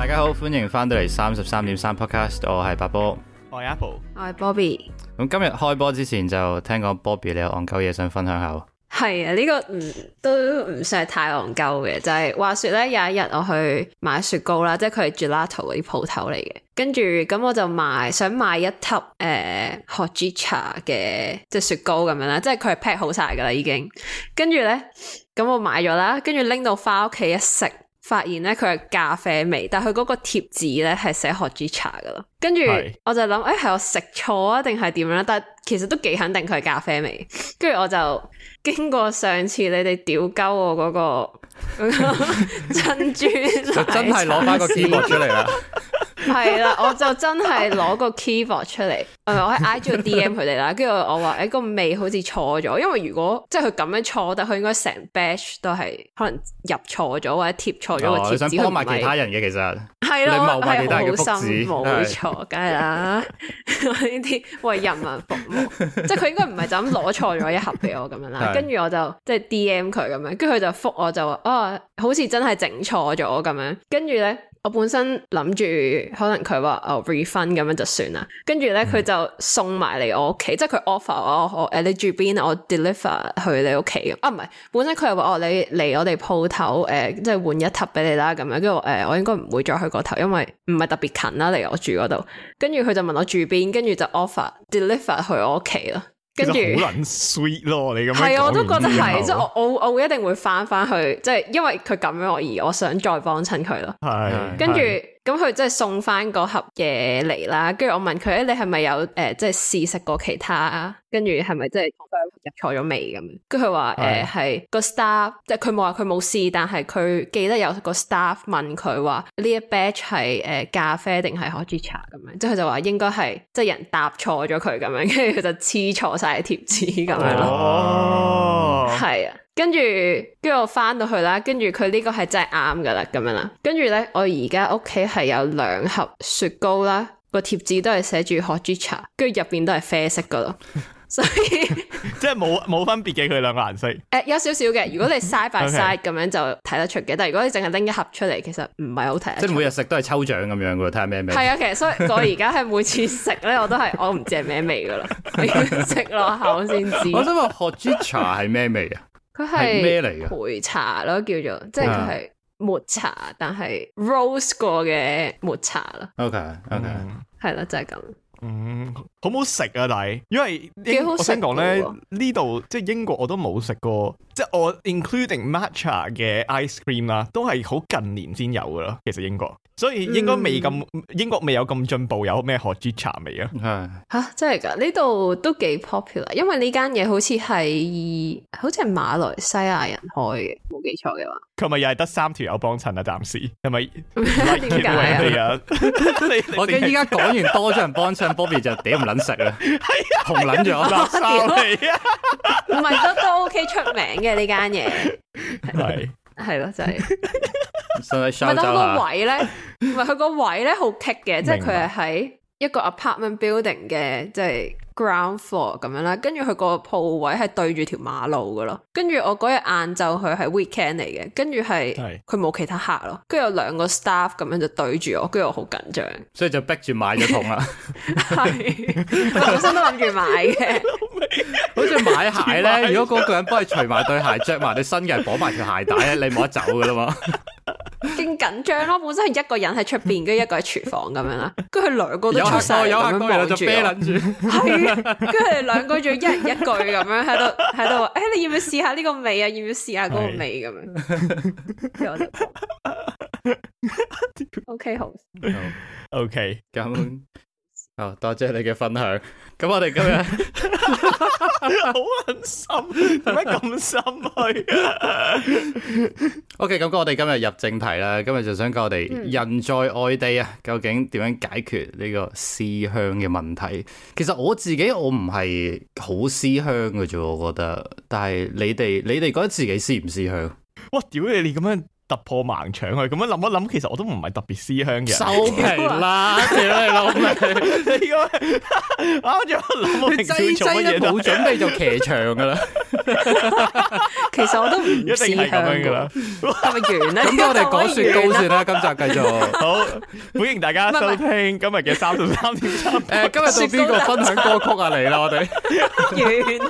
大家好，歡迎翻到嚟33.3 Podcast， 我係八波， 我係 Apple， 我係 Bobby。 咁今日開波之前就聽講 Bobby 你有戇鳩嘢想分享下喎。 係啊，呢個都唔算係太戇鳩嘅，就係話說咧，有一日我去買雪糕啦，即係佢係 Gelato 嗰啲鋪頭嚟嘅，跟住咁我就想買一盒Hojicha 嘅即係雪糕咁樣啦，即係佢係 pack 好晒噶啦已經，跟住咧咁我買咗啦，跟住拎到翻屋企一食，發現咧佢係咖啡味，但係佢嗰個貼紙咧係寫 Hojicha 噶咯，跟住我就諗係我食錯啊定係點樣啦，但係其實都幾肯定佢係咖啡味，跟住我就經過上次你哋屌鳩我嗰個珍珠就真係攞翻個 keyboard 出嚟啦。 係啦，我就真係攞個 keyboard 出嚟，我喺 IG 度 DM 佢哋啦，跟住我話個味好似錯咗，因為如果即係佢咁樣錯，但佢應該成 batch 都係可能入錯咗或者貼錯咗個貼紙， 你想幫埋其他人嘅其實係咯， 你謀埋其他人嘅福祉， 冇錯，梗係啦，呢啲為人民服務，即係佢應該唔係就咁攞錯咗一盒俾我咁樣啦，跟住我就即係 DM 佢咁樣，跟住佢就覆我就話好似真係整錯咗咁樣，跟住咧。我本身諗住可能佢話refund 咁樣就算啦，跟住咧佢就送埋嚟我屋企，即係佢 offer 我你住邊我 deliver 去你屋企唔係，本身佢係話你嚟我哋鋪頭即係換一盒俾你啦咁樣，跟住我應該唔會再去嗰頭，因為唔係特別近啦離我住嗰度，跟住佢就問我住邊，跟住就 offer deliver 去我屋企咯。跟住好撚 sweet 咯，你咁樣係我都覺得係，即係我會一定會翻去，即係因為佢咁樣而我想再幫襯佢咯。係，跟住咁佢即係送翻嗰盒嘢嚟啦，跟住我問佢你係咪有即係試食過其他，跟住係咪即係入錯咗味咁樣？跟住佢話係個 staff， 即係佢冇話佢冇試，但係佢記得有個 staff 問佢話呢一 batch 係咖啡定係 Hojicha 咁樣，即係佢就話應該係即係人答錯咗佢咁樣，跟住佢就黐錯晒貼紙咁樣咯。係啊。跟住我翻到去啦，跟住佢呢個係真係啱噶啦，咁樣啦。跟住咧，我而家屋企係有2盒雪糕啦，個貼紙都係寫住 Hojicha， 跟住入邊都係啡色噶咯，所以即係冇分別嘅佢兩個顏色。 有少少嘅，如果你 side by side 咁樣就睇得出嘅，但係如果你淨係拎一盒出嚟，其實唔係好睇。 即係每日食都係抽獎咁樣噶，睇下咩味。 係啊，其實所以我而家係每次食咧，我唔知係咩味噶啦，我要食落口先知。 我想問 Hojicha 係咩味啊？ 佢係咩嚟嘅？ 焙茶咯，叫做即係佢係抹茶，但係 roast 過嘅抹茶咯。 OK， 係啦，就係咁。 好唔好食啊？但係因為我想講咧，呢度即係英國我都冇食過，即係我 including matcha 嘅 ice cream 啦，都係好近年先有噶啦。其實英國，所以應該英國未有咁進步，有咩 Hojicha 味啊？ 係吓真係噶，呢度都幾 popular， 因為呢間嘢好似係馬來西亞人開嘅，冇記錯嘅話。 佢咪又係得3條友幫襯啊？暫時係咪？ 點解啊？ 我驚依家講完多咗人幫襯 ，Bobby 就屌唔撚食啦，紅撚咗垃圾嚟啊！ 唔係都 OK 出名嘅呢間嘢，係咯，就係。唔係，但佢個位咧，唔係佢個位咧好棘嘅，即係佢係喺一個 apartment building 嘅，即係 ground floor 咁樣啦。跟住佢個鋪位係對住條馬路噶咯。跟住我嗰日晏晝佢係 weekend 嚟嘅，跟住係佢冇其他客咯。跟住有2個 staff 咁樣就對住我，跟住我好緊張， 所以就逼住買咗桶啦。 係，我本身都諗住買嘅。 好似買鞋咧，如果嗰個人幫你除埋對鞋，着埋對新嘅，綁埋條鞋帶咧，你冇得走噶啦嘛。 勁緊張咯，本身係一個人喺出邊，跟住一個喺廚房咁樣啦，跟住佢2個都出晒咁樣望住我，係啊，跟住佢哋2個仲一人一句咁樣喺度話，你要唔要試下呢個味啊？要唔要試下嗰個味咁樣？跟住我就OK 好 OK 咁。多謝你嘅分享。咁我哋今日好狠心，點解咁深去 ？OK，咁我哋今日入正題啦。今日就想講我哋人在外地啊，究竟點樣解決呢個思鄉嘅問題？其實我自己我唔係好思鄉嘅啫，我覺得。但係你哋覺得自己思唔思鄉？ 哇！屌你咁樣突破盲腸去。咁樣諗一諗，其實我都唔係特別思鄉嘅人。 收皮啦，屌你老味！ 你個啱咗諗， 你擠都冇準備就騎牆噶啦。 其實我都唔思鄉噶啦， 係咪完咧？ 咁我哋講雪糕先啦，今集繼續。 好，歡迎大家收聽今日嘅33.3。 今日到邊個分享歌曲啊？嚟啦，我哋完。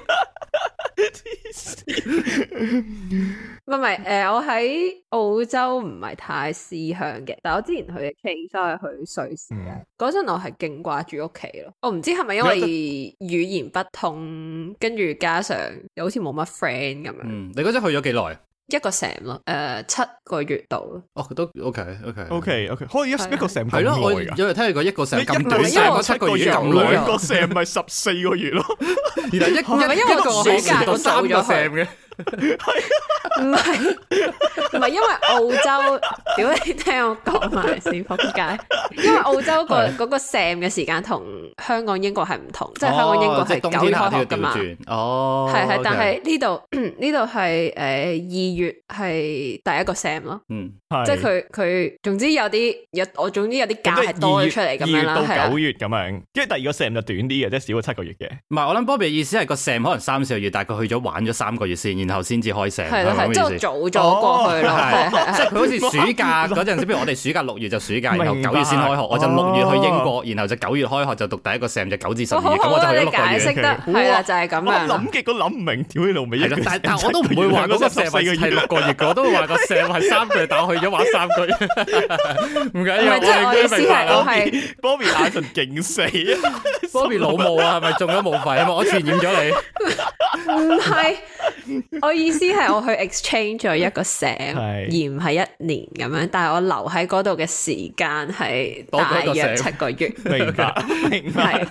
唔係我喺澳洲唔係太思鄉嘅，但係我之前去嘅 case 係去瑞士嘅。嗰陣我係勁掛住屋企咯，我唔知係咪因為語言不通，跟住加上又好似冇乜 friend 咁樣。 你嗰陣去咗幾耐？ 一個 sem 咯，7個月度。 哦，都 OK， 可以一個 sem 係咯，我有日聽你講一個 sem 咁短，7個月咁耐， 兩個 sem 咪14個月咯。 原來一個暑假到3個 sem 嘅。 唔係因為澳洲，屌你聽我講埋先仆街。因為澳洲嗰個 sem 嘅時間同香港英國係唔同，即係香港英國係9月開學噶嘛。 哦， 係，但係呢度係2月係第一個 sem 咯。即係佢總之有啲假係多咗出嚟咁樣啦。 2月到9月咁樣，跟住第二個 sem 就短啲嘅，即係少咗7個月嘅。 唔係，我諗 Bobby 嘅意思係個 sem 可能3-4個月，但係佢去咗玩咗3個月先，然後先至開 sem。 係即係早咗過去咯。 即係佢好似暑假嗰陣時，譬如我哋暑假6月就暑假，然後9月先開學，我就6月去英國，然後就9月開學就讀第一個 sem 就9至12月，咁我就去咗6個月。 解釋得係啦，就係咁樣。 諗極都諗唔明，屌你老味。 但我都唔會話嗰個 sem 係6個月嘅，我都會話個 sem 係3個月，但我去咗玩3個月。唔緊要， 即係我意思係我係 Bobby 眼神勁死啊 ！Bobby 老母啊，係咪中咗武肺啊？我傳染咗你。 唔係，我意思係我去 exchange 咗一個 sem，而唔係1年咁樣。但係我留喺嗰度嘅時間係大約7個月。 明白。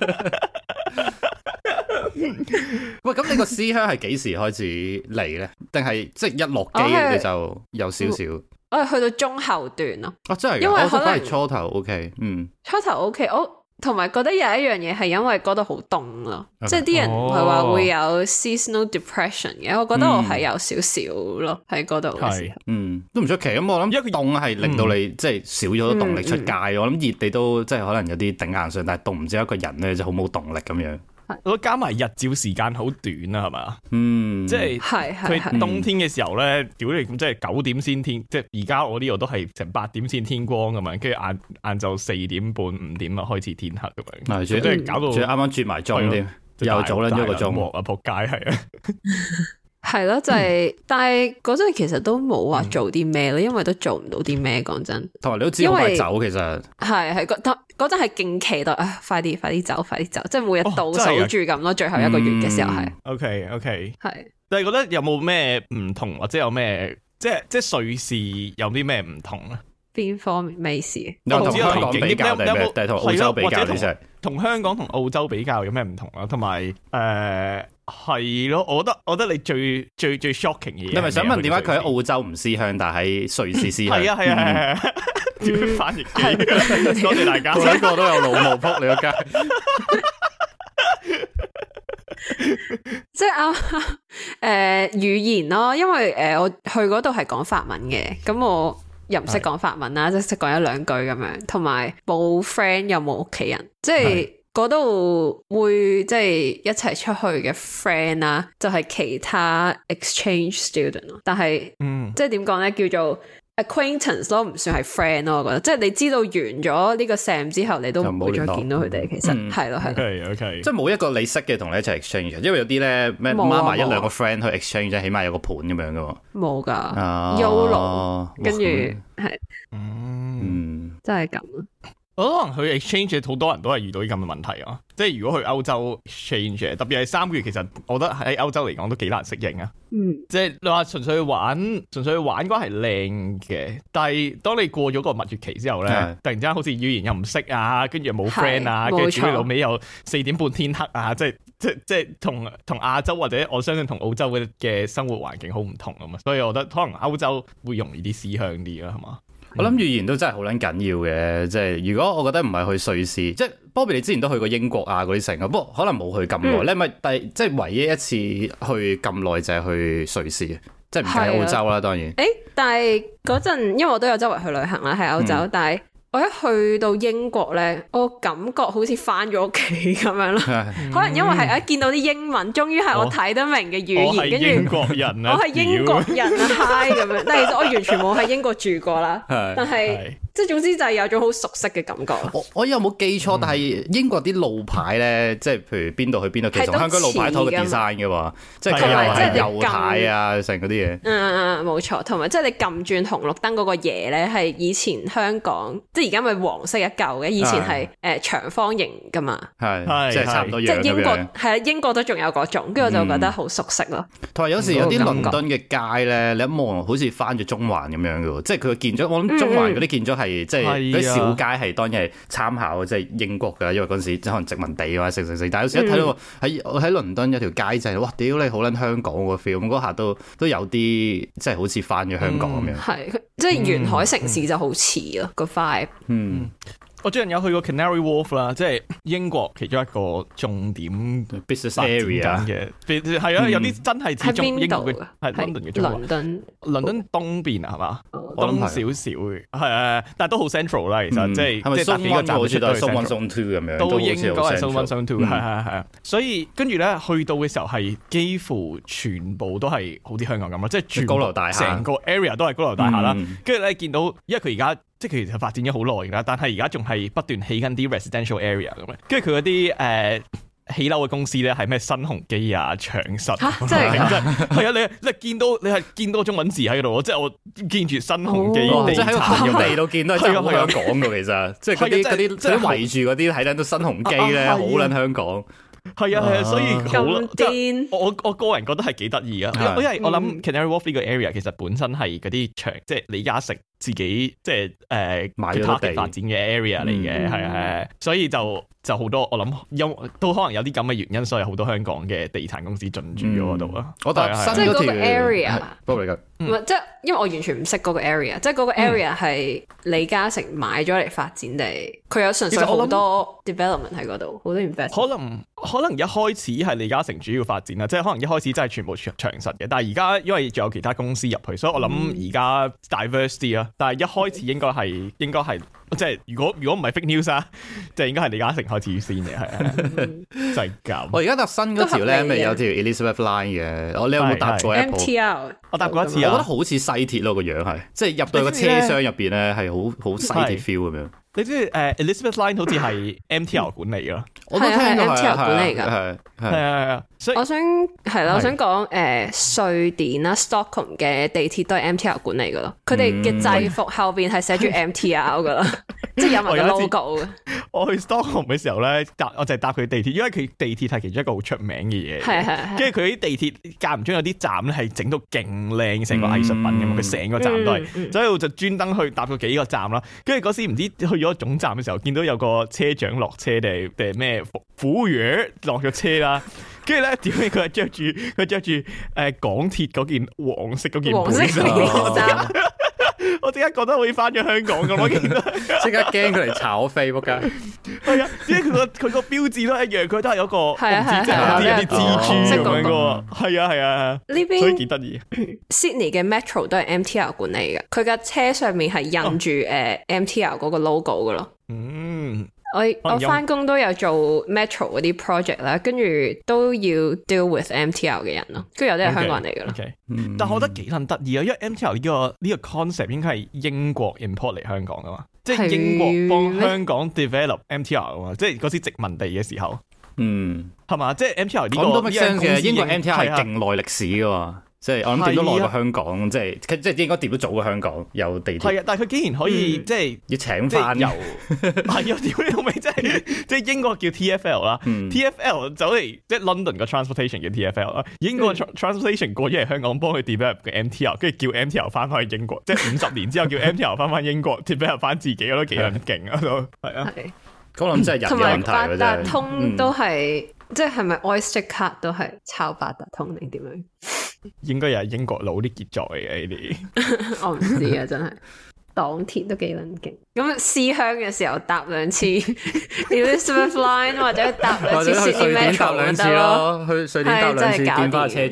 喂，咁你個思鄉係幾時開始嚟咧？定係即係一落機你就有少少？ 我係去到中後段咯。 真係，因為可能初頭 OK， 初頭 OK，我同埋覺得有一樣嘢係因為嗰度好凍咯，即係啲人唔係話會有 seasonal depression 嘅，我覺得我係有少少咯喺嗰度嘅時候。 都唔出奇。咁我諗一個凍係令到你即係少咗動力出街。我諗熱你都即係可能有啲頂硬上，但係凍唔知一個人咧就好冇動力咁樣。 我覺得加埋日照時間好短啊，係嘛？即係佢冬天嘅時候咧，屌你咁即係9點先天，即係而家我呢度都係成8點先天光咁樣，跟住晏晝4點半5點啊開始天黑咁樣。係，即係搞到啱啱轉埋妝添，又早撚咗個鐘啊！仆街係啊！ 係咯，就係，但係嗰陣其實都冇話做啲咩咯，因為都做唔到啲咩，講真。 同埋你都知我係走，其實係嗰陣係勁期待啊！快啲走，即係每日倒數住咁咯。最後一個月嘅時候係。 OK， 係。 但係覺得有冇咩唔同，或者有咩即係瑞士有啲咩唔同咧？ 邊方面咩事？ 有同香港比較定係同澳洲比較？ 同香港同澳洲比較有咩唔同啊？同埋係咯，我覺得你最 shocking 嘅嘢，你咪想問點解佢喺澳洲唔思鄉，但係喺瑞士思鄉？ 係啊，點樣翻譯機？多謝大家， 呢個都有老毛仆你個街。 即係語言咯，因為我去嗰度係講法文嘅，咁我又唔識講法文啦，即係識講1-2句咁樣，同埋冇 friend 又冇屋企人，即係嗰度會即係一齊出去嘅 friend 啦，就係其他 exchange student 咯，但係即係點講咧，叫做acquaintance 咯，唔算係 friend 咯，我覺得，即係你知道完咗呢個 sem 之後，你都唔會再見到佢哋，其實係咯。 OK， 即係冇一個你識嘅同你一齊 exchange，因為有啲咧咩孖埋1-2個 friend 去 exchange，即係起碼有個盤咁樣噶喎。 冇噶，YOLO，跟住係，真係咁。 我可能去 exchange 好多人都係遇到啲咁嘅問題啊！即係如果去歐洲 exchange，特別係3個月，其實我覺得喺歐洲嚟講都幾難適應啊。即係你話純粹去玩嗰係靚嘅，但係當你過咗個蜜月期之後咧，突然之間好似語言又唔識啊，跟住又冇 friend 啊，跟住主要老尾又4點半天黑啊，即係同亞洲或者我相信同澳洲嘅生活環境好唔同啊嘛，所以我覺得可能歐洲會容易啲思鄉啲啦，係嘛？ 我諗語言都真係好撚緊要嘅，即係如果我覺得唔係去瑞士，即係 Bobby 你之前都去過英國啊嗰啲城啊，不過可能冇去咁耐咧，咪即係唯一一次去咁耐就係去瑞士，即即係唔計澳洲啦，當然。 但係嗰陣因為我都有周圍去旅行啦，喺歐洲，但係我一去到英國咧，我感覺好似翻咗屋企咁樣咯。可能因為係一見到啲英文，終於係我睇得明嘅語言，跟住英國人啊， 我係英國人啊，hi 咁樣。但係其實我完全冇喺英國住過啦，但係即係總之就係有種好熟悉嘅感覺。 我有冇記錯？但係英國啲路牌咧，即係譬如邊度去邊度，其實香港路牌拖個 design 嘅喎，即係佢又係右軚啊，成嗰啲嘢。 冇錯，同埋即係你撳轉紅綠燈嗰個嘢咧，係以前香港即係而家咪黃色一嚿嘅，以前係長方形噶嘛， 係即係差唔多樣。 即係英國係啊，英國都仲有嗰種，跟住我就覺得好熟悉咯。 同埋有時有啲倫敦嘅街咧，你一望好似翻咗中環咁樣嘅喎，即係佢嘅建築。我諗中環嗰啲建築係即係嗰啲小街係當然係參考即係英國㗎，因為嗰陣時即係可能殖民地啊，成。但係有時一睇到喺倫敦有條街就係哇屌你好撚香港個 feel，咁嗰下都有啲即係好似翻咗香港咁樣。 係即係沿海城市就好似咯個 vibe。 我最近有去過 Canary Wharf 啦，即係英國其中一個重點 business area 嘅，係啊，有啲真係似中英國嘅，係 London 嘅中環。倫敦東邊啊，係嘛？東少少嘅，係但係都好 central 啦，其實即係即係搭幾個站好似都係 Zone 1 Zone 2咁樣，都應該係 Zone 1 Zone 2，係啊。所以跟住咧去到嘅時候係幾乎全部都係好啲香港咁咯，即係全高樓大廈，成個 area 都係高樓大廈啦。跟住咧見到，因為佢而家即係其實發展咗好耐啦，但係而家仲係不斷起緊啲 residential area 咁樣，跟住佢嗰啲起樓嘅公司咧係咩新鴻基啊、長實， 真係係啊！你係見到中文字喺度，即係我見住新鴻基， 即係喺個空地度見到真係好香港㗎，其實即係嗰啲圍住嗰啲睇緊都新鴻基咧，好撚香港。 係啊，所以好癲。我個人覺得係幾得意啊，因為我諗 Canary Wharf 呢個 area 其實本身係嗰啲長，即係李嘉誠自己即係買咗地發展嘅 area 嚟嘅，係，所以就好多我諗都可能有啲咁嘅原因，所以好多香港嘅地產公司進駐咗嗰度啊。 我覺得即係嗰個 area， 唔係即係因為我完全唔識嗰個 area，即係嗰個 area 係李嘉誠買咗嚟發展地，佢有純粹好多 development 喺嗰度，好多 investment。 可能一開始係李嘉誠主要發展啦，即係可能一開始真係全部長實嘅，但係而家因為仲有其他公司入去，所以我諗而家 diverse 啲啦。但係一開始應該係即係如果唔係 fake news 啊，即係應該係李嘉誠開始先嘅，係啊，就係咁。 我而家搭新嗰條咧，咪有條 Elizabeth Line 嘅，你有冇搭過 MTR？ 我搭過一次啊， 我覺得好似西鐵咯個樣係，即係入到個車廂入邊咧係好西鐵 feel 咁樣。 你知Elizabeth Line 好似係 MTR 管理㗎， 我都聽過 MTR 管理㗎， 係。所以我想講瑞典啦 Stockholm 嘅地鐵都係 MTR 管理㗎咯，佢哋嘅制服後邊係寫住 MTR 㗎啦，即係有埋個 logo 嘅。 我去 Stockholm 嘅時候咧，我就係搭佢地鐵，因為佢地鐵係其中一個好出名嘅嘢。係。跟住佢啲地鐵間唔中有啲站咧係整到勁靚，成個藝術品咁，佢成個站都係，所以我就專登去搭過幾個站啦。跟住嗰時唔知去咗總站嘅時候，見到有個車長落車定咩服務員落咗車啦。跟住咧，點解佢係着住港鐵嗰件黃色嗰件背衫？我即刻覺得好似翻咗香港咁，我見到即刻驚佢嚟炒飛仆街。 係啊，因為佢個標誌都一樣，佢都係有個唔知即係有啲蜘蛛咁樣嘅喎。係啊，呢邊所以幾得意。 Sydney 嘅 Metro 都係 MTR 管理嘅，佢架車上面係印住MTR 嗰個 logo 嘅咯。我翻工都有做 Metro 嗰啲 project 啦，跟住都要 deal with MTR 嘅人咯，跟住有啲係香港人嚟噶咯。 但我覺得幾撚得意啊，因為 MTR 呢個 concept 應該係英國 import 嚟香港噶嘛，即係英國幫香港 develop MTR 啊嘛，即係嗰時殖民地嘅時候，係嘛？即係 MTR 呢個嘅英國 MTR 係勁耐歷史噶嘛。即係我諗掂到耐過香港，即係應該掂到早過香港有地鐵。係啊，但係佢竟然可以即係要請翻由係啊，屌你老味！即係英國叫 TFL 啦，TFL 走嚟即係 London 個 transportation 叫 TFL 啦，英國 transportation 過咗嚟香港幫佢 develop 嘅 MTR， 跟住叫 MTR 翻返去英國，即係50年之後叫 MTR 翻返英國 develop 翻自己，我都幾撚勁啊都係啊！ 咁諗真係人嘅問題啊！真係。同埋八達通都係即係咪 Oyster Card 都係抄八達通定點樣？ 應該又係英國佬啲傑作嚟嘅呢啲， 我唔知啊，真係港鐵都幾撚勁。咁思鄉嘅時候搭兩次 Elizabeth Line 或者搭兩次 Sydney Metro 搭兩次咯，去瑞典搭兩次見翻車長。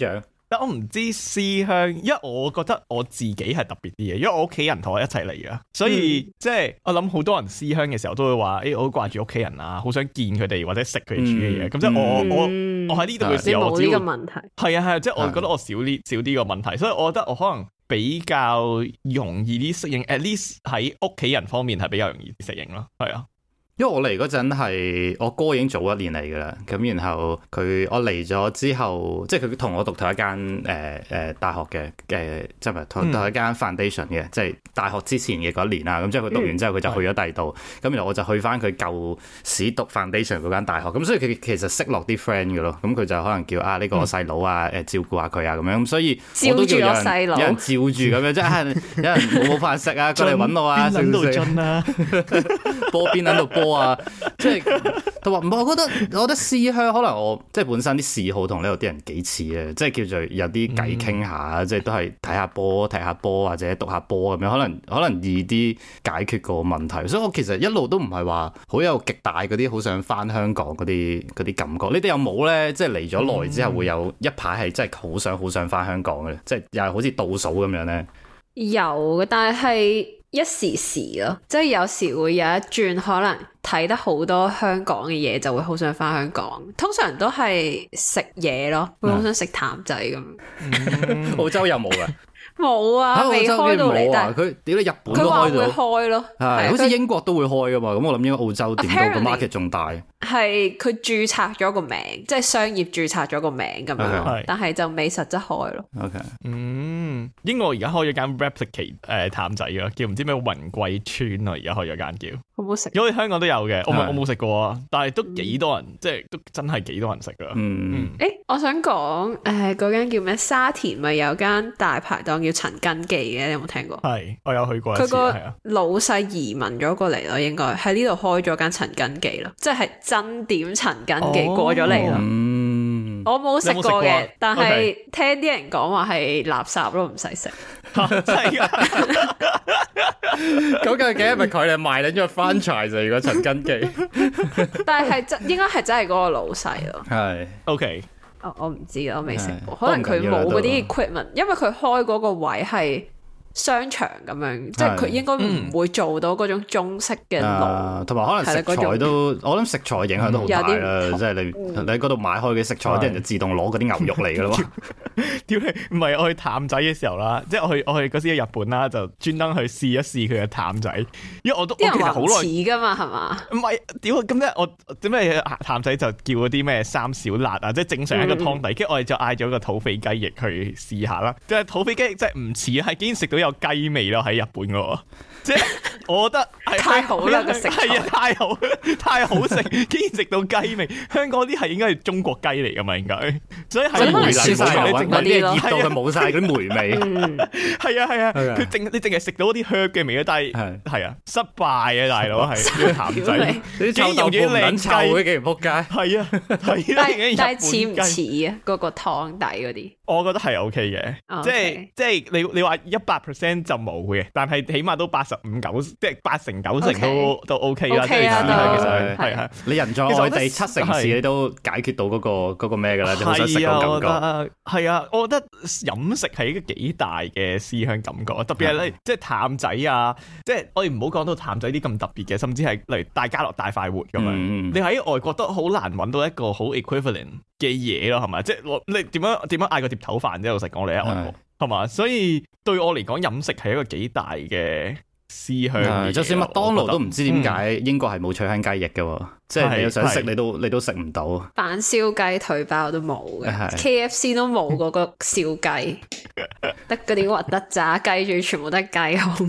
但我唔知思鄉，因為我覺得我自己係特別啲嘅，因為我屋企人同我一齊嚟噶，所以即係我諗好多人思鄉嘅時候都會話，我好掛住屋企人啊，好想見佢哋或者食佢哋煮嘅嘢。咁即係我喺呢度嘅時候，我只要冇呢個問題。 係啊，即係我覺得我少啲個問題，所以我覺得我可能比較容易啲適應 ，at least 喺屋企人方面係比較容易啲適應咯。係啊。 因為我嚟嗰陣係我哥已經早一年嚟㗎啦，咁然後我嚟咗之後，即係佢同我讀同一間大學嘅即係唔係同一間 foundation 嘅，即係大學之前嘅嗰一年啦。咁之後佢讀完之後，佢就去咗第二度，咁然後我就去翻佢舊時讀 foundation 嗰間大學。咁所以佢其實識落啲 friend 嘅咯。咁佢就可能叫呢個我細佬啊，照顧下佢啊咁樣。咁所以我都叫有人照住咁樣，即係有人冇飯食啊，過嚟揾我啊， 邊度進啊， 波邊喺度波。即係佢話唔係，我覺得思鄉可能我即係本身啲嗜好同呢度啲人幾似嘅，即係叫做有啲偈傾下，即係都係睇下波、踢下波或者讀下波咁樣，可能易啲解決個問題。所以我其實一路都唔係話好有極大嗰啲好想翻香港嗰啲感覺。你哋有冇咧？即係嚟咗耐之後會有一排係真係好想翻香港嘅咧？即係又係好似倒數咁樣咧？ 有，但係一時時咯，即係有時會有一轉，可能睇得好多香港嘅嘢，就會好想翻香港。通常都係食嘢咯，會好想食譚仔咁。 澳洲有冇㗎？ 冇啊，未開到嚟。但係佢屌你日本都開咗， 佢話會開咯， 係好似英國都會開噶嘛。咁我諗應該澳洲點到個 market 仲大。 係佢註冊咗個名，即係商業註冊咗個名咁樣，但係就未實質開咯。 OK， 英國而家開咗間 replicate 譚仔啊，叫唔知咩雲貴村啊，而家開咗間叫。 好唔好食？ 因為香港都有嘅，我冇食過啊，但係都幾多人，即係都真係幾多人食噶。 我想講嗰間叫咩？沙田咪有間大排檔叫陳根記嘅，你有冇聽過？ 係，我有去過一次。 佢個老細移民咗過嚟咯，應該喺呢度開咗間陳根記咯，即係真點陳根記過咗嚟咯。我冇食過嘅，但係聽啲人講話係垃圾咯，唔使食。 真係噶？ 究竟係咪佢哋賣緊咗個 franchise 就如果陳根記？ 但係應該係真係嗰個老細咯。 係 OK。 我唔知啊，我未食過，可能佢冇嗰啲 equipment，因為佢開嗰個位係商場咁樣，即係佢應該唔會做到嗰種中式嘅爐， 同埋可能食材都，我諗食材影響都好大啦。即係你喺嗰度買開嘅食材，啲人就自動攞嗰啲牛肉嚟噶啦。 屌你，唔係我去譚仔嘅時候啦，即係我去嗰時喺日本啦，就專登去試一試佢嘅譚仔，因為我都啲人話好似噶嘛，係嘛？ 唔係，屌咁咧，我點解譚仔就叫嗰啲咩三小辣啊？即係正常一個湯底，跟住我哋就嗌咗個土匪雞翼去試下啦。即係土匪雞翼真係唔似，係竟然食到有雞味咯，喺日本嗰個，即係我覺得太好啦個食材， 係啊，太好食，竟然食到雞味。香港啲係應該係中國雞嚟噶嘛，應該，所以係梅嚟晒，嗰啲熱到佢冇晒嗰啲梅味。 係啊，你淨係食到嗰啲 herb 嘅味啊，但係係啊，失敗啊，大佬係啲譚仔， 啲臭豆腐唔撚臭嘅，竟然仆街。 係啊， 但係似唔似啊？嗰個湯底嗰啲， 我覺得係 OK 嘅，即係你話100%就冇嘅，但係起碼都85-90%，即係80-90%都 OK 啦。其實係你人在外地7成事，你都解決到嗰個咩㗎啦，就好想食個感覺。 係啊，我覺得飲食係一個幾大嘅思鄉感覺，特別係即係譚仔啊，即係我哋唔好講到譚仔啲咁特別嘅，甚至係例如大家樂大快活咁樣，你喺外國都好難揾到一個好 equivalent 嘅嘢咯，係咪？即係你點樣嗌個碟頭飯啫？老實講，你喺外國係嘛？所以對我嚟講，飲食係一個幾大嘅思鄉。 就算麥當勞都唔知點解英國係冇脆香雞翼嘅，即係你有想食你都食唔到。 板燒雞腿包都冇嘅，KFC 都冇嗰個燒雞，得嗰啲核突炸雞，仲全部都係雞胸。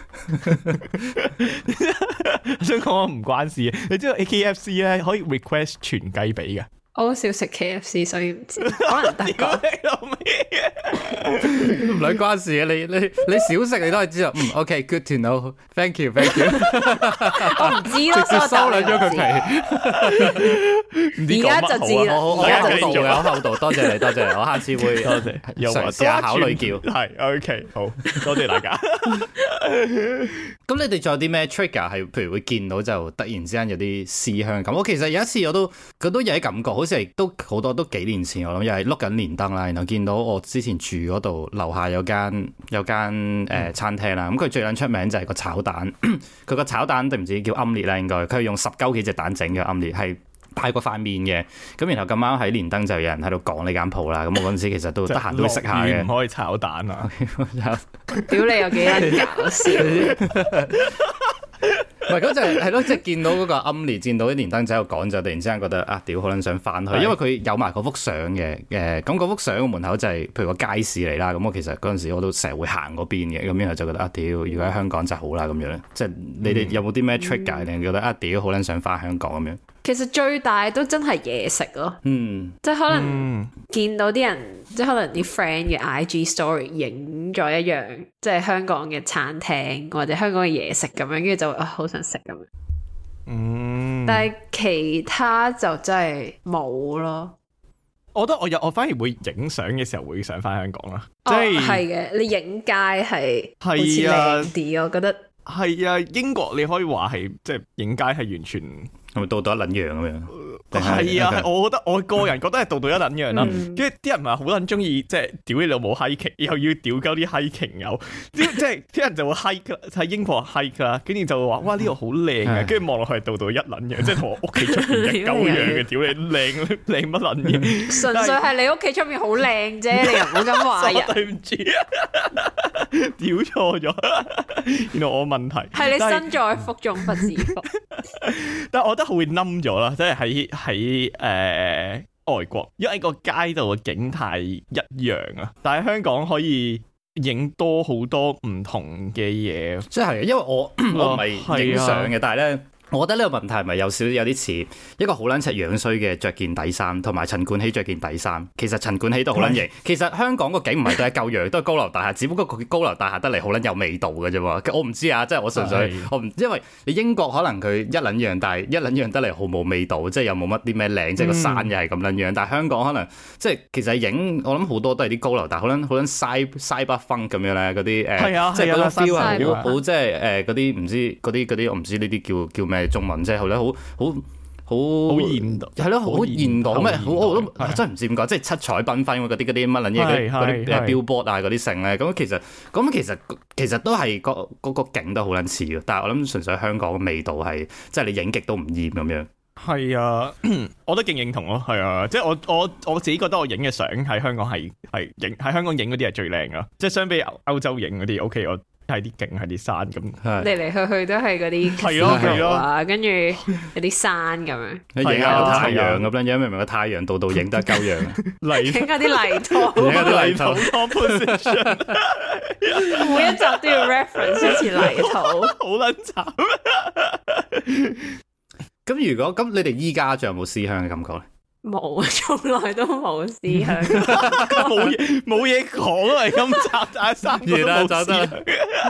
我想講唔關事，你知道 KFC 咧可以 request 全雞髀嘅。 我好少食 KFC， 所以唔知，可能大個唔兩關事嘅，你少食你都係知道。OK，good to know，thank you。 我唔知咯， 直接收兩張佢皮。 而家就知啦， 我有厚道，多謝你，我下次會嘗試下考慮叫。 係 OK， 好多謝大家。 咁你哋仲有啲咩 trigger 係，譬如會見到就突然之間有啲思鄉感？我其實有一次我都有啲感覺，好似係都好多都幾年前我諗，又係碌緊連登啦，然後見到我之前住嗰度樓下有間餐廳啦，咁佢最撚出名就係個炒蛋，佢個炒蛋定唔知叫奄列啦，應該佢係用10幾隻蛋整嘅奄列，係大過塊面嘅。咁然後咁啱喺連登就有人喺度講呢間鋪啦，咁我嗰陣時其實都得閒都會食下嘅。 唔可以炒蛋啊！ 屌你有幾撚搞笑！ 唔係咁就係咯，即係見到嗰個奄列，見到啲連登仔喺度講，就突然之間覺得啊，屌可能想翻去，因為佢有埋嗰幅相嘅，咁嗰幅相個門口就係譬如個街市嚟啦，咁我其實嗰陣時我都成日會行嗰邊嘅，咁然後就覺得啊，屌如果喺香港就好啦咁樣，即係你哋有冇啲咩 trigger 令覺得啊，屌好撚想翻香港咁樣？ 其實最大都真係嘢食咯，即係可能見到啲人，即係可能啲 friend 嘅 IG story 影咗一樣，即係香港嘅餐廳或者香港嘅嘢食咁樣，跟住就會好想食咁樣。但係其他就真係冇咯。 我覺得我反而會影相嘅時候會想翻香港啦，即係嘅，你影街係好似靚啲，我覺得係啊。英國你可以話係即係影街係完全。 係咪度到一撚樣咁樣？ 係啊，係我覺得我個人覺得係度到一撚樣啦。跟住啲人咪好撚中意，即係屌你老母 hiking，又要屌鳩啲 hiking 友，即係啲人就會 hike 喺英國 hike 啦，跟住就會話哇呢度好靚啊，跟住望落去度到一撚樣，即係同我屋企出邊一鳩樣嘅，屌你靚乜撚嘢？ 純粹係你屋企出面好靚啫，你又唔好咁話人。 對唔住，屌錯咗，原來我問題係你身在福中不知福。 但係我覺得會冧咗啦，即係喺外國，因為個街道嘅景態一樣啊。但係香港可以影多好多唔同嘅嘢， 即係因為我唔係影相嘅，但係咧。我覺得呢個問題係咪有少少有啲似一個好撚柒樣衰嘅着件底衫，同埋陳冠希着件底衫。其實陳冠希都好撚型。其實香港個景唔係都係舊樣，都係高樓大廈，只不過佢高樓大廈得嚟好撚有味道嘅啫喎。我唔知啊，即係我純粹我唔，因為你英國可能佢一撚樣，但係一撚樣得嚟毫無味道，即係又冇乜啲咩靚，即係個山又係咁撚樣。但係香港可能即係其實影我諗好多都係啲高樓大廈，好撚西北風咁樣咧，嗰啲即係嗰種 feel 係好即係嗰啲唔知嗰啲我唔知呢啲叫咩中文，即係好現代，係咯，好現代咩？我都真係唔知點講，即係七彩繽紛嗰啲乜撚嘢嗰啲billboard 啊嗰啲剩咧，咁其實都係嗰個景都好撚似嘅，但係我諗純粹香港嘅味道係即係你影極都唔厭咁樣。 係啊，我都勁認同咯，係啊，即係我自己覺得我影嘅相喺香港係喺香港影嗰啲係最靚噶，即係相比歐洲影嗰啲 OK 我。係啲景，係啲山咁， 嚟嚟去去都係嗰啲係咯，跟住有啲山咁樣， 影下個太陽咁樣，明唔明個太陽度影得鳩樣， 影下啲泥土， 影下啲泥土 composition， 每一集都要 reference 一次泥土， 好撚慘。 咁如果咁，你哋依家仲有冇思鄉嘅感覺咧？ 冇，從來都冇思鄉， 冇嘢講啊！咁集大三個都冇思鄉，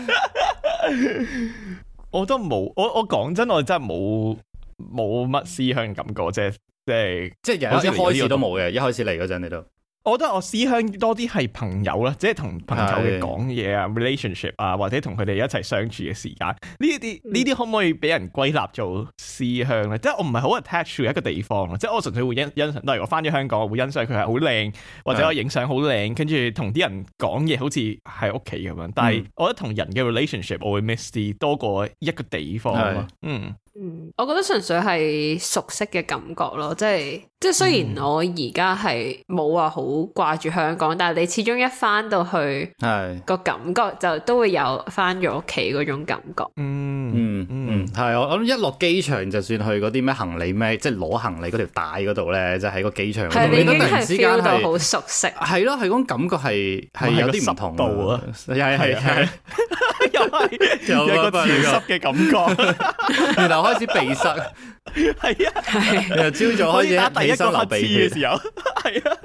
我都冇，我講真，我真係冇乜思鄉感覺啫，即係一開始都冇嘅，一開始嚟嗰陣你都。 我覺得我思鄉多啲係朋友啦，即係同朋友嘅講嘢啊 relationship 啊，或者同佢哋一齊相處嘅時間，呢啲可唔可以俾人歸納做思鄉咧？即係我唔係好 attach to 一個地方，即係我純粹會欣賞。例如我翻咗香港，我會欣賞佢係好靚，或者我影相好靚，跟住同啲人講嘢好似喺屋企咁樣。但係我覺得同人嘅 relationship 我會 miss 啲多過一個地方。 我覺得純粹係熟悉嘅感覺咯，即係雖然我而家係冇話好掛住香港，但係你始終一翻到去，個感覺就都會有翻咗屋企嗰種感覺。 係我諗一落機場，就算去嗰啲咩行李咩，即係攞行李嗰條帶嗰度咧，即係喺個機場， 你已經係 feel 到好熟悉。 係咯，係嗰種感覺係有啲唔同度啊，係。 又係有個潮濕嘅感覺， 然後開始鼻塞， 係啊， 然後朝早開始打第一個流鼻血嘅時候，係啊，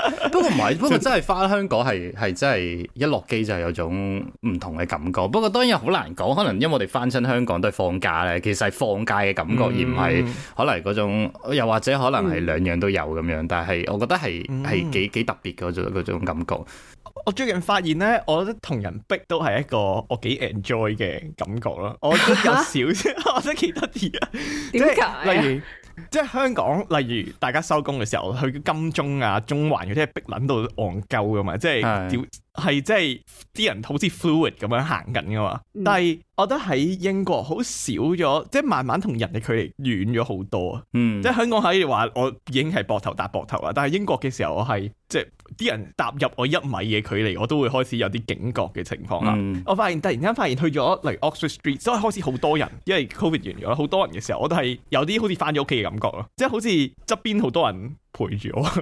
不過唔係，不過真係翻香港係真係一落機就係有種唔同嘅感覺。不過當然好難講，可能因為我哋翻親香港都係放假咧，其實係放假嘅感覺，而唔係可能嗰種，又或者可能係兩樣都有咁樣。但係我覺得係幾特別嗰種感覺。 我最近發現咧，我覺得同人逼都係一個我幾 enjoy 嘅感覺咯。我覺得有少少，我覺得幾得意啊。點解？例如，即係香港，例如大家收工嘅時候去金鐘啊、中環嗰啲係逼撚到戇鳩噶嘛，即係係即係啲人好似 fluid 咁樣行緊噶嘛。但係我覺得喺英國好少咗，即係慢慢同人嘅距離遠咗好多啊。即係香港可以話我已經係膊頭搭膊頭啦，但係英國嘅時候我係即係啲人踏入我1米嘅距離，我都會開始有啲警覺嘅情況啦。我突然間發現去咗例如 Oxford Street，所以開始好多人，因為 Covid 完咗，好多人嘅時候，我都係有啲好似翻咗屋企嘅感覺咯，即係好似側邊好多人陪住我，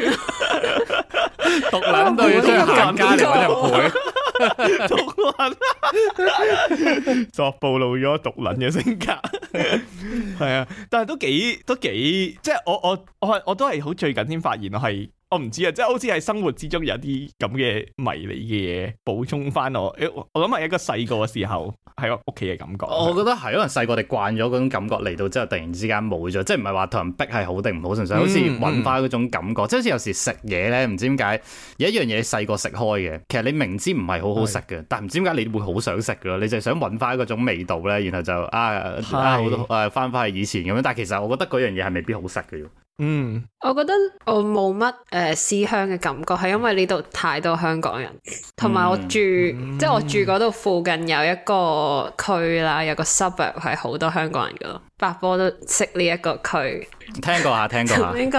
獨撚到要出去行街嚟揾人陪。 獨撚作暴露咗獨撚嘅性格，係啊，但係都幾，即係我都係好最近先發現我唔知啊，即係好似喺生活之中有啲咁嘅迷你嘅嘢補充翻我諗係一個細個嘅時候喺屋企嘅感覺。 我覺得係，可能細個哋慣咗嗰種感覺嚟到之後，突然之間冇咗，即係唔係話同人逼係好定唔好，純粹好似揾翻嗰種感覺。即係好似有時食嘢咧，唔知點解有一樣嘢細個食開嘅，其實你明知唔係好好食嘅，但係唔知點解你會好想食嘅咯，你就係想揾翻嗰種味道咧，然後就翻返去以前咁樣。但係其實我覺得嗰樣嘢係未必好食嘅。 我覺得我冇乜思鄉嘅感覺，係因為呢度太多香港人，同埋我住即係我住嗰度附近有一個區啦，有個 suburb 係好多香港人噶咯，百波都識呢一個區。 聽過下。呢個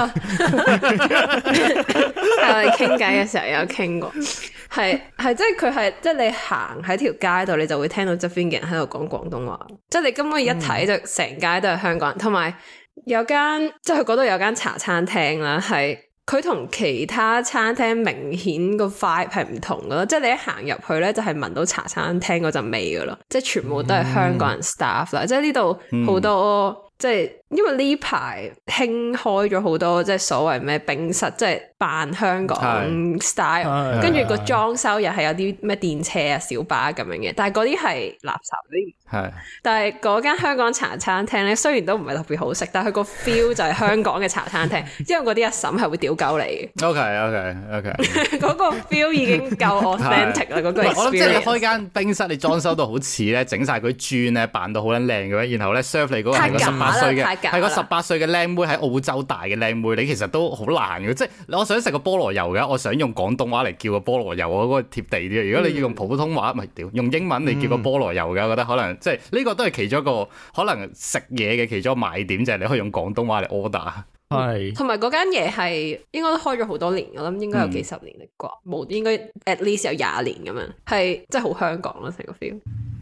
係我哋傾偈嘅時候有傾過，係即係佢係即係你行喺條街度，你就會聽到側邊嘅人喺度講廣東話，即係你根本一睇就成街都係香港人，同埋。有間即係佢嗰度有間茶餐廳啦，係佢同其他餐廳明顯個 vibe 係唔同噶咯，即係你一行入去咧就係聞到茶餐廳嗰陣味噶咯，即係全部都係香港人 staff 啦，即係呢度好多即係因為呢排興開咗好多即係所謂咩冰室，即係扮香港 style， 跟住個裝修又係有啲咩電車啊、小巴咁樣嘅，但係嗰啲係垃圾嗰啲。但係嗰間香港茶餐廳咧，雖然都唔係特別好食，但係佢個 feel 就係香港嘅茶餐廳，因為嗰啲阿嬸係會屌鳩你嘅。OK， 嗰個 feel 已經夠 authentic 啦，嗰個 experience。我諗即係你開間冰室，你裝修到好似咧，整晒佢磚咧，扮到好撚靚嘅，然後咧 serve 你嗰個係個18歲嘅，係個18歲嘅靚妹喺澳洲大嘅靚妹，你其實都好難嘅。即係我想食個菠蘿油嘅，我想用廣東話嚟叫個菠蘿油，我嗰個貼地啲。如果你要用普通話，唔係屌用英文嚟叫個菠蘿油嘅，我覺得可能。即係呢個都係其中一個可能食嘢嘅其中一個賣點，就係你可以用廣東話嚟 order。 係， 同埋嗰間嘢係應該都開咗好多年，我諗應該有幾十年嚟啩，冇應該 at least 有20年咁樣，係即係好香港咯成個 feel。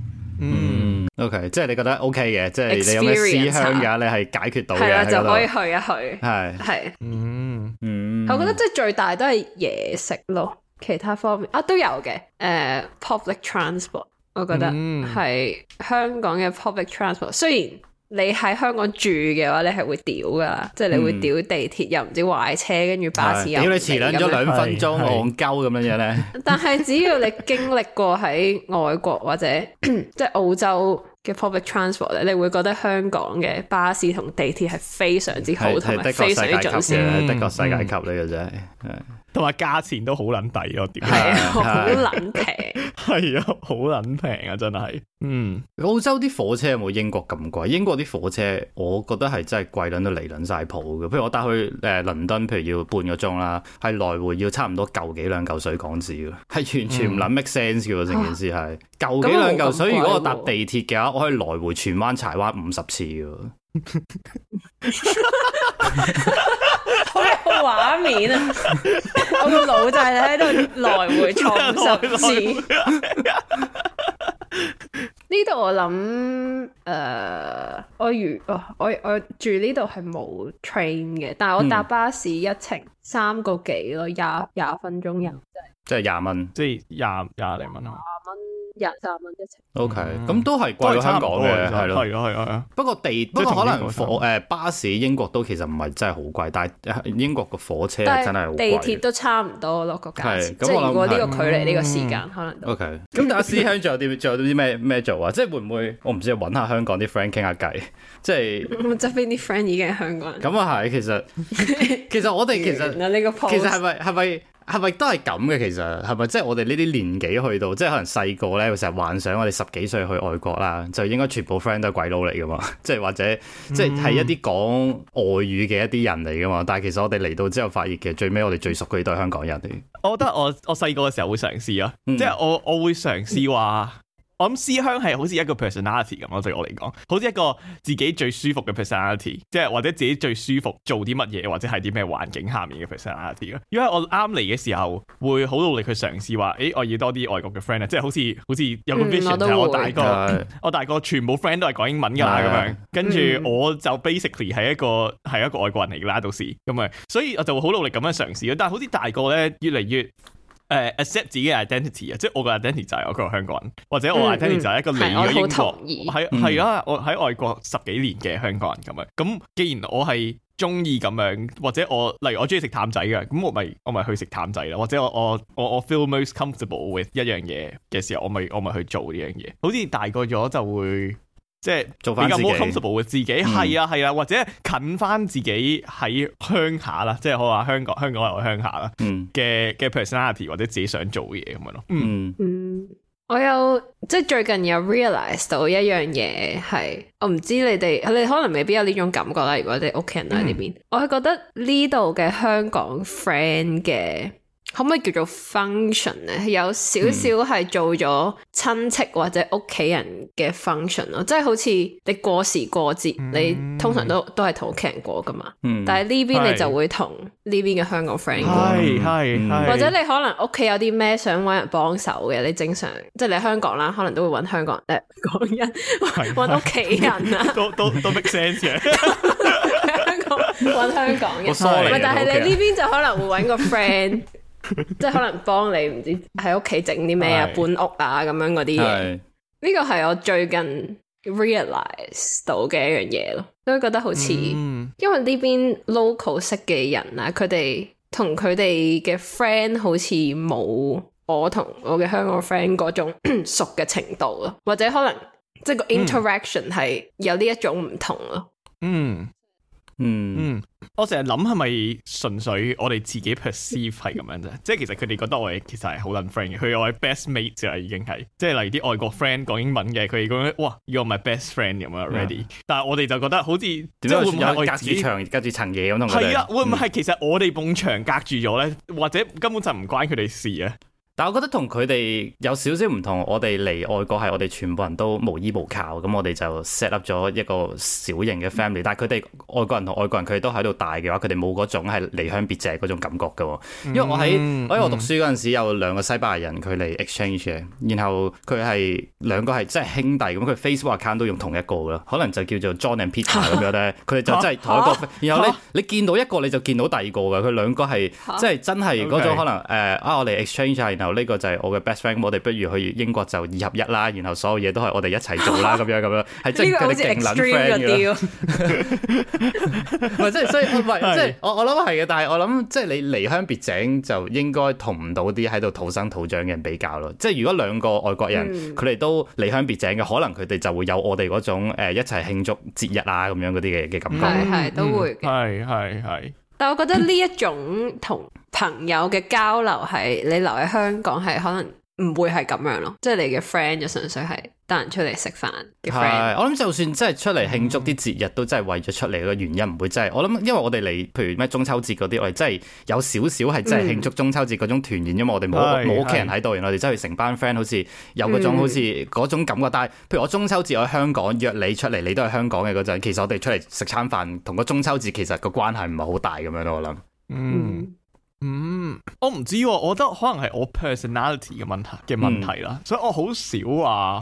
OK， 即係你覺得 OK 嘅，即係你有咩思鄉嘅，你係解決到嘅， 係啊，就可以去一去。 係， 我覺得即係最大都係嘢食咯，其他方面都有嘅。public transport。我覺得係香港嘅 public transport，雖然你喺香港住嘅話，你係會屌噶，即係你會屌地鐵又唔知壞車，跟住巴士又屌你遲兩咗2分鐘，戇鳩咁樣咧。 但係只要你經歷過喺外國或者即係澳洲嘅 public transport 咧，你會覺得香港嘅巴士同地鐵係非常之好，同埋非常之準時， 的確世界級呢個真係。 同埋價錢都好撚抵咯，點係啊，好撚平， 係啊，好撚平啊，真係。 澳洲啲火車有冇英國咁貴？英國啲火車我覺得係真係貴撚到離撚晒譜嘅。譬如我搭去倫敦，譬如要半個鐘啦，係來回要差唔多嚿幾兩嚿水港紙嘅，係完全唔撚 make sense 嘅喎，成件事係嚿幾兩嚿水。如果我搭地鐵嘅話，我可以來回荃灣柴灣50次嘅。 好有畫面啊！我個腦就係喺度來回錯50次。呢度我諗我住呢度係冇 train 嘅，但係我搭巴士一程3個幾咯，廿分鐘有， 即係20蚊， 即係廿零蚊啊！ 23蚊一程。 OK， 咁都係貴過香港嘅，係咯， 係啊。 不過可能巴士英國都其實唔係真係好貴，但係英國個火車真係好貴。 地鐵都差唔多咯個價錢，即係如果呢個距離呢個時間可能都。 OK， 咁大家思鄉仲有啲咩做啊？即係會唔會我唔知揾下香港啲 friend 傾下偈，即係側邊啲 friend 已經係香港人。 咁啊係，其實我哋其實係咪都係咁嘅？其實係咪即係我哋呢啲年紀去到，即係可能細個咧，會成日幻想我哋10幾歲去外國啦，就應該全部 friend 都係鬼佬嚟噶嘛？即係或者即係一啲講外語嘅一啲人嚟噶嘛？但係其實我哋嚟到之後發現，其實最尾我哋最熟嘅都係香港人嚟。 我覺得我細個嘅時候會嘗試啊，即係我會嘗試話。我諗思鄉係好似一個 personality 咁咯，對我嚟講，好似一個自己最舒服嘅 personality， 即係或者自己最舒服做啲乜嘢，或者係啲咩環境下面嘅 personality 咯。因為我啱嚟嘅時候，會好努力去嘗試話，我要多啲外國嘅 friend 啊，即係好似有個 vision 就係我大個全部 friend 都係講英文㗎啦咁樣，跟住我就 basically 係一個外國人嚟㗎啦，到時咁啊，所以我就會好努力咁樣嘗試咯。但係好似大個咧，越嚟越accept 自己嘅 identity 啊，即係我個 identity 就係我個香港人，或者我 identity 就係一個嚟咗英國，係啊，我喺外國10幾年嘅香港人咁樣。咁既然我係中意咁樣，或者例如我中意食淡仔嘅，咁我咪去食淡仔啦。或者我 feel most comfortable with 一樣嘢嘅時候，我咪去做呢樣嘢。好似大個咗就會。即係做翻比較 more comfortable 嘅自己，係啊，或者近翻自己喺鄉下啦，即係我話香港係我鄉下啦，嘅 personality 或者自己想做嘅嘢咁樣咯。 我有即係最近有 realize 到一樣嘢係，我唔知你可能未必有呢種感覺啦。如果你屋企人喺呢邊，我係覺得呢度嘅香港 friend 嘅。可唔可以叫做 function 咧？有少少係做咗親戚或者屋企人嘅 function 咯，即係好似你過時過節，你通常都係同屋企人過噶嘛。但係呢邊你就會同呢邊嘅香港 friend 過，或者你可能屋企有啲咩想搵人幫手嘅，你正常即係你喺香港啦，可能都會搵香港人搵屋企人啊， 都 make sense 嘅。 搵香港人，但係你呢邊就可能會搵個 friend。即係可能幫你唔知喺屋企整啲咩啊，搬屋啊咁樣嗰啲嘢，呢個係我最近 realize 到嘅一樣嘢咯，都覺得好似，因為呢邊 local 識嘅人啊，佢哋同佢哋嘅 friend 好似冇我同我嘅香港 friend 嗰種熟嘅程度咯，或者可能即係個 interaction 係有呢一種唔同咯。 我成日諗係咪純粹我哋自己 perceive 係咁樣啫？即係其實佢哋覺得我哋其實係好撚 friend 嘅，佢係我哋 best mate 就係已經係，即係例如啲外國 friend 講英文嘅，佢哋講哇，you're my best friend 咁樣 ready。但係我哋就覺得好似即係會唔會我隔住層嘢咁同佢哋？ 係啊，會唔會係其實我哋埲牆隔住咗咧？或者根本就唔關佢哋事啊？ 但我覺得同佢哋有少少唔同，我哋嚟外國係我哋全部人都無依無靠，咁我哋就 set up 咗一個小型嘅 family。但係佢哋外國人同外國人，佢哋都喺度大嘅話，佢哋冇嗰種係離鄉別井嗰種感覺㗎。因為我讀書嗰陣時有2個西班牙人佢嚟 exchange 嘅，然後佢係2個係真係兄弟咁，佢 Facebook account 都用同一個咯，可能就叫做 John and Peter 咁樣咧。佢哋就真係同一個，然後你見到一個你就見到第二個嘅，佢2個係即係真係嗰種可能我哋 exchange 啊，然後呢個就係我嘅 best friend， 我哋不如去英國就2合1啦，然後所有嘢都係我哋一齊做啦，咁樣係即係佢哋勁撚 friend 嘅。唔係即係所以唔係即係我諗係嘅，但係我諗即係你離鄉別井就應該同唔到啲喺度土生土長嘅人比較咯。即係如果2個外國人佢哋都離鄉別井嘅，可能佢哋就會有我哋嗰種一齊慶祝節日啊咁樣嗰啲嘅感覺。 係都會嘅。 係。 但係我覺得呢一種同朋友嘅交流係你留喺香港係可能唔會係咁樣咯，即係你嘅 friend 就純粹係帶人出嚟食飯嘅 friend。 我諗就算真係出嚟慶祝啲節日，都真係為咗出嚟嘅原因，唔會真係我諗，因為我哋嚟，譬如咩中秋節嗰啲，我哋真係有少少係真係慶祝中秋節嗰種團圓，因為我哋冇屋企人喺度，然後我哋真係成班 friend 好似有嗰種好似嗰種感覺。但係譬如我中秋節我喺香港約你出嚟，你都係香港嘅嗰陣，其實我哋出嚟食餐飯，同個中秋節其實個關係唔係好大咁樣咯，我諗。 我唔知，我覺得可能係我 personality 嘅問題啦，所以我好少話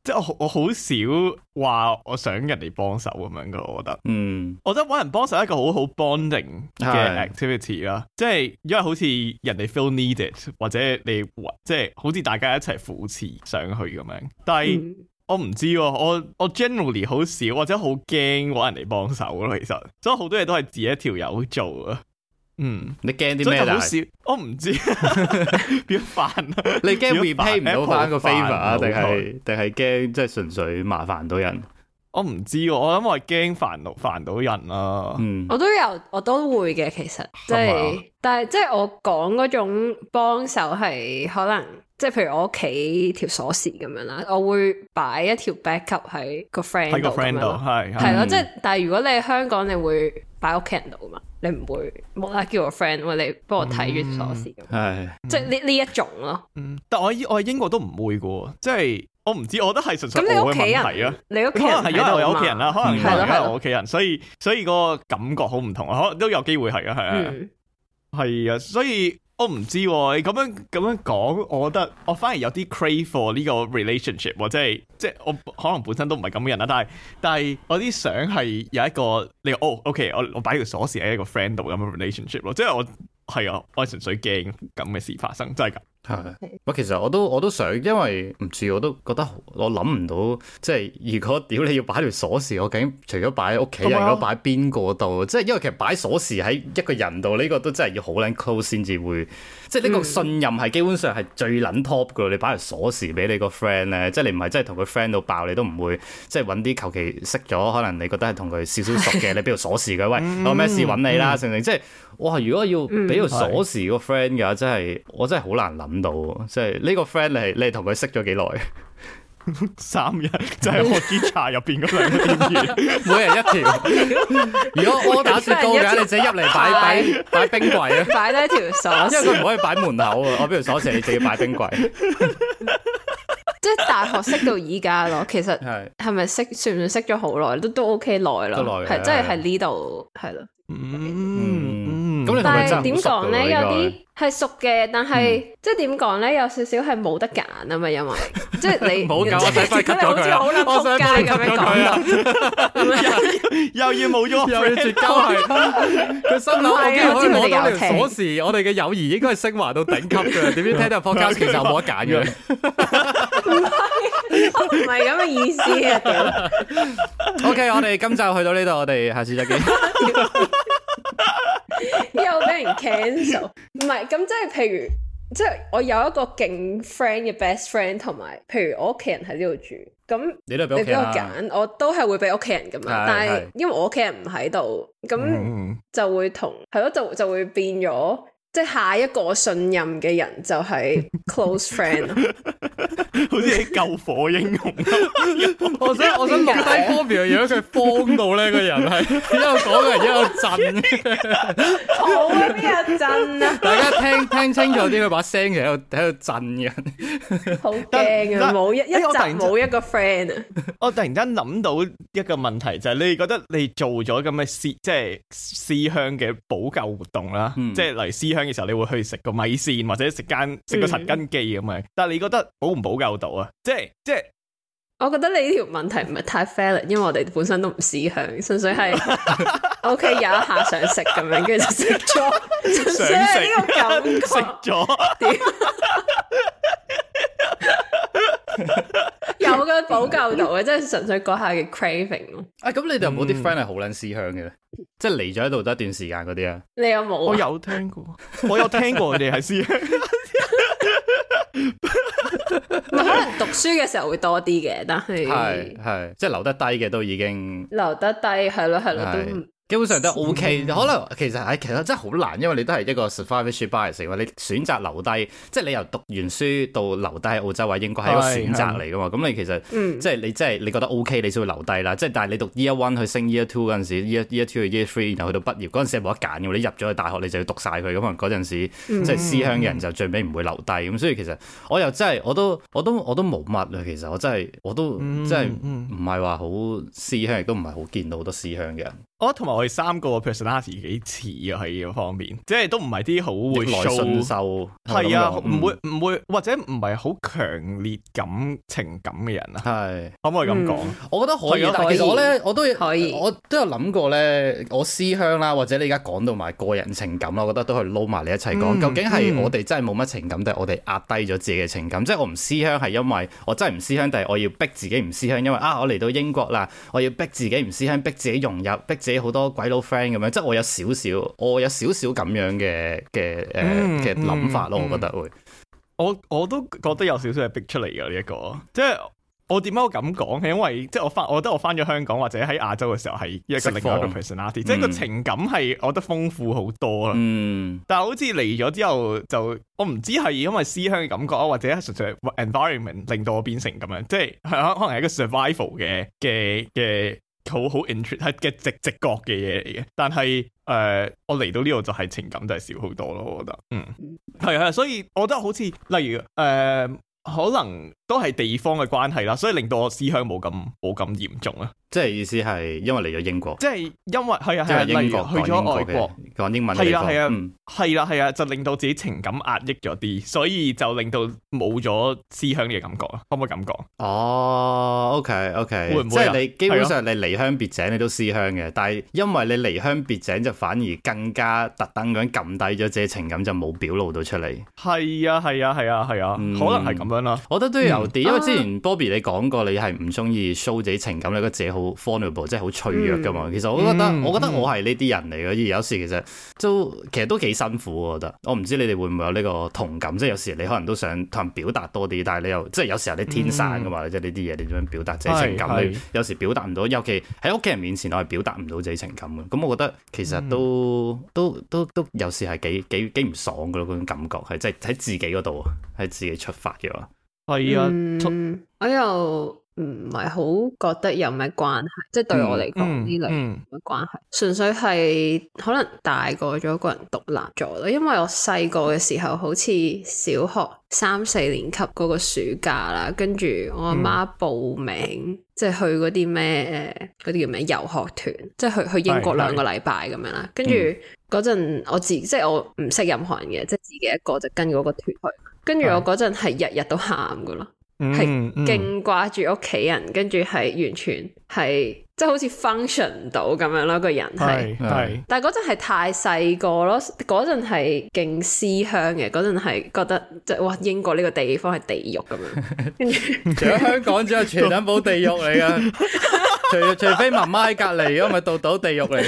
即係我好少話我想人哋幫手咁樣噶，我覺得。我覺得搵人幫手係一個好好 bonding 嘅 activity 啦，即係因為好似人哋 feel needed， 或者你即係好似大家一齊扶持上去咁樣。但係我唔知喎，我 generally 好少或者好驚搵人哋幫手咯，其實，所以好多嘢都係自己一條友做啊。 你驚啲咩啊？ 我唔知變煩啊！ 你驚 repay 唔到翻個 favor 啊？定係驚即係純粹麻煩到人？ 我唔知，我諗我係驚煩到人啊。 我都會嘅，其實即係，但係即係我講嗰種幫手係可能。即係譬如我屋企條鎖匙咁樣啦，我會擺一條 backup 喺個 friend 度咁樣咯，係咯，即係但係如果你喺香港，你會擺屋企人度噶嘛，你唔會冇啦叫個 friend 喂，你幫我睇住鎖匙咁，即係呢一種咯。 但我喺英國都唔會噶，即係我唔知，我覺得係純粹我嘅問題啊。 你屋企人可能係因為我有屋企人啦，可能係因為我屋企人，所以個感覺好唔同啊，可能都有機會係啊，係啊，所以。我唔知喎，你咁樣講，我覺得我反而有啲 crave for 呢個 relationship，即係我可能本身都唔係咁嘅人啦，但係我啲想係有一個你OK，我擺條鎖匙喺一個 friend 度咁嘅 relationship 咯，即係我係純粹驚咁嘅事發生，真係㗎。 其實我都想，因為唔知我都覺得我諗唔到，即係如果屌你要擺條鎖匙，我究竟除咗擺喺屋企人，如果擺邊個度？即係因為其實擺鎖匙喺一個人度，呢個都真係要好撚 close 先至會，即係呢個信任係基本上係最撚 top 噶。你擺條鎖匙俾你個 friend 咧，即係你唔係真係同佢 friend 到爆，你都唔會即係揾啲求其識咗，可能你覺得係同佢少少熟嘅，你俾條鎖匙佢，喂，我咩事揾你啦，成即係哇！如果要俾條鎖匙個 friend 嘅話，真係我真係好難諗到，即係呢個 friend 你同佢識咗幾耐 ？3日就係我支茶入邊嗰兩個店員， 每人一條。如果我打雪糕嘅，你自己入嚟擺冰櫃啊， 擺低條鎖匙， 因為佢唔可以擺門口啊。我俾條鎖匙，你自己擺冰櫃。 即係大學識到依家咯，其實係咪算唔算識咗好耐？都 OK 耐咯，係即係喺呢度係咯。但係點講咧？有啲係熟嘅，但係即係點講咧？有少少係冇得揀啊嘛，因為即係你冇揀，我使快 cut 咗佢， 我想仆街咁樣講， 又要冇咗， 又要絕交係。佢心諗我可以攞到條鎖匙，我哋嘅友誼應該係升華到頂級嘅。點知聽到 podcast 其實冇得揀嘅。 唔係咁嘅意思啊 ！OK， 我哋今集去到呢度，我哋下次再見。 又俾人 cancel， 唔係咁即係譬如，即係我有一個勁 friend 嘅 best friend， 同埋譬如我屋企人喺呢度住，咁你俾我揀，我都係會俾屋企人咁樣，但係因為我屋企人唔喺度，咁就會同係咯，就會變咗。即係下一個信任嘅人就係 close friend， 好似啲救火英雄。 我想錄低 Bobby 嘅樣，佢慌到咧，個人係一路講嘅人一路震。 好啊，邊有震啊？ 大家聽清楚啲，佢把聲其實喺度震嘅。 好驚啊！冇一集冇一個 friend 啊！ 我突然間諗到一個問題，就係你覺得你做咗咁嘅即係思鄉嘅補救活動啦，即係嚟思鄉嘅時候，你會去食個米線或者食個陳根記咁樣，但係你覺得補唔補救到啊？即係， 我覺得你呢條問題唔係太 fair， 因為我哋本身都唔思鄉，純粹係 OK 有一下想食咁樣，跟住就食咗，純粹係呢個感覺食咗。 有個補救到嘅，即係純粹嗰下嘅 craving 咯。 咁你哋有冇啲 friend 係好撚思鄉嘅咧？即係嚟咗喺度得一段時間嗰啲啊？ 你有冇？ 我有聽過，佢哋係思鄉。 可能讀書嘅時候會多啲嘅，但係係即係留得低嘅都已經留得低，係咯都。 基本上都 OK，可能其實真係好難，因為你都係一個 survivorship bias，你選擇留低，即係你由讀完書到留低喺澳洲或者英國係一個選擇嚟噶嘛。咁你其實即係你覺得 OK，你先會留低啦。即係但係你讀 year one 去升 year two 嗰陣時 ，year two 去 year three， 然後去到畢業嗰陣時係冇得揀嘅。你入咗去大學，你就要讀晒佢。咁可能嗰陣時即係思鄉嘅人就最尾唔會留低。咁所以其實我又真係我都冇乜啊。其實我真係真係唔係話好思鄉，亦都唔係好見到好多思鄉嘅人。 同埋我哋三個 personality 幾似啊喺呢個方面，即係都唔係啲好會 show， 係啊，唔會或者唔係好強烈情感嘅人啊，係可唔可以咁講？ 我覺得可以，但其實我咧我都有諗過咧，我思鄉啦，或者你而家講到埋個人情感啦，我覺得都可以撈埋你一齊講。究竟係我哋真係冇乜情感，定係我哋壓低咗自己嘅情感？即係我唔思鄉係因為我真係唔思鄉，定係我要逼自己唔思鄉？因為我嚟到英國啦，我要逼自己唔思鄉，逼自己融入，逼自己好多鬼佬 friend 咁樣。即係我有少少咁樣嘅諗法咯，我覺得會。 我都覺得有少少係逼出嚟嘅呢一個，即係我點解我咁講？係因為即係我覺得我翻咗香港或者喺亞洲嘅時候係一個另外一個 personality，即係個情感係我覺得豐富好多啦。但係好似嚟咗之後就我唔知係因為思鄉嘅感覺啊，或者係純粹 environment 令到我變成咁樣，即係可能係一個 survival 嘅好 interest 係嘅直覺嘅嘢嚟嘅。但係我嚟到呢度就係情感就係少好多咯，我覺得。係，所以我覺得好似例如可能都係地方嘅關係啦，所以令到我思鄉冇咁嚴重啊。即係意思係因為嚟咗英國， 即係因為例如去咗外國講英文嘅地方， 係啊，就令到自己情感壓抑咗啲，所以就令到冇咗思鄉嘅感覺啊。可唔可以咁講？ 哦 ，OK， 會唔會即係你基本上你離鄉別井你都思鄉嘅，但係因為你離鄉別井就反而更加特登咁撳低咗自己情感，就冇表露到出嚟。 係啊，可能係咁樣啦。 我覺得都有啲，因為之前 Bobby 你講過你係唔中意 show 自己情感，你覺得自己好 vulnerable， 即係好脆弱噶嘛。其實我覺得我係呢啲人嚟嘅，而有時其實都幾辛苦。我覺得我唔知你哋會唔會有呢個同感，即係有時你可能都想同人表達多啲，但係你又即係有時候你天生噶嘛，即係呢啲嘢你點樣表達自己情感？你有時表達唔到，尤其喺屋企人面前我係表達唔到自己情感嘅。咁我覺得其實都有時係幾唔爽噶咯，嗰種感覺係即係喺自己嗰度，喺自己出發嘅話。 係啊， 我又唔係好覺得有咩關係，即係對我嚟講呢類冇乜關係，純粹係可能大個咗個人獨立咗咯。因為我細個嘅時候，好似小學3-4年級嗰個暑假啦，跟住我阿媽報名，即係去嗰啲咩嗰啲叫咩遊學團，即係去英國2個禮拜咁樣啦。跟住嗰陣我即係我唔識任何人嘅，即係自己一個就跟嗰個團去。跟住我嗰陣係日日都喊噶咯，係勁掛住屋企人，跟住係完全係即係好似 function 唔到咁樣咯，個人係。但係嗰陣係太細個咯，嗰陣係勁思鄉嘅，嗰陣係覺得即係哇英國呢個地方係地獄咁樣。跟住除咗香港之外，全等堡地獄嚟噶，除非媽媽喺隔離，如果唔係度地獄嚟。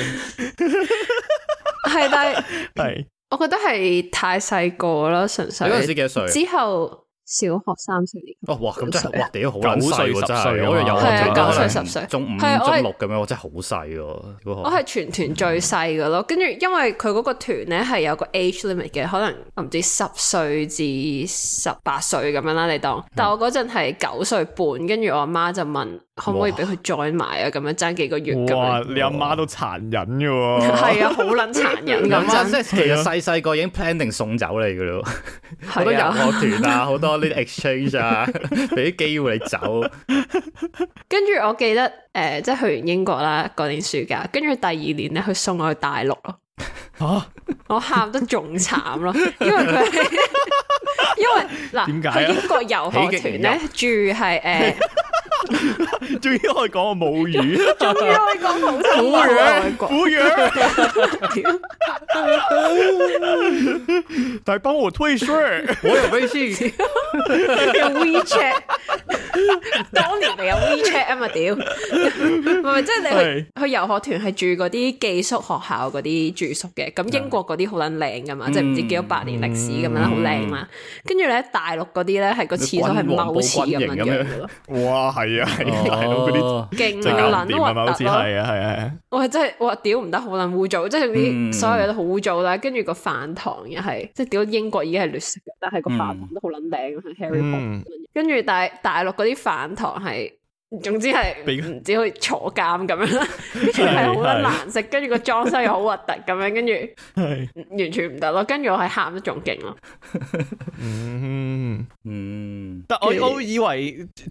係，但係我覺得係太細個啦，純粹。 你嗰陣時幾多歲？ 之後小學3-4年。 哇，咁真係哇，屌好撚細喎，真係。我係9歲10歲， 中5、中6咁樣，我真係好細喎。 我係全團最細嘅咯，跟住因為佢嗰個團咧係有個 age limit 嘅，可能我唔知10歲至18歲咁樣啦，你當。但我嗰陣係9歲半，跟住我阿媽就問可唔可以俾佢 join 埋啊？咁樣爭幾個月咁樣。 哇！你阿媽都殘忍嘅喎。 係啊，好撚殘忍咁樣。 即係其實細個已經 plan 定送走你嘅咯，好多遊學團啊，好多呢啲 exchange 啊，俾啲機會你走。 跟住我記得即係去完英國啦嗰年暑假，跟住第2年咧佢送我去大陸咯。我喊得仲慘咯，因為佢因為嗱去英國遊學團咧住係終於可以講個母語， 終於可以講普通話。 服務員，來幫我退稅， 我有微信， 有 WeChat， 當年咪有 WeChat 啊嘛屌，唔係即係你去遊學團係住嗰啲寄宿學校嗰啲住宿嘅，咁英國嗰啲好撚靚噶嘛，即係唔知幾多百年歷史咁樣啦，好靚嘛。跟住咧大陸嗰啲咧係個廁所係踎廁咁樣樣嘅咯。 哇，係啊，係大陸嗰啲勁撚核突咯， 係啊， 我係真係哇屌唔得，好撚污糟，即係啲所有嘢都好污糟啦。跟住個飯堂又係，即係屌英國已經係劣色嘅，但係個飯堂都好撚靚，Harry Potter。跟住大陸嗰啲飯堂係，總之係唔知好似坐監咁樣啦，跟住係好撚難食，跟住個裝修又好核突咁樣，跟住完全唔得咯。跟住我係喊得仲勁咯。 但我以為即係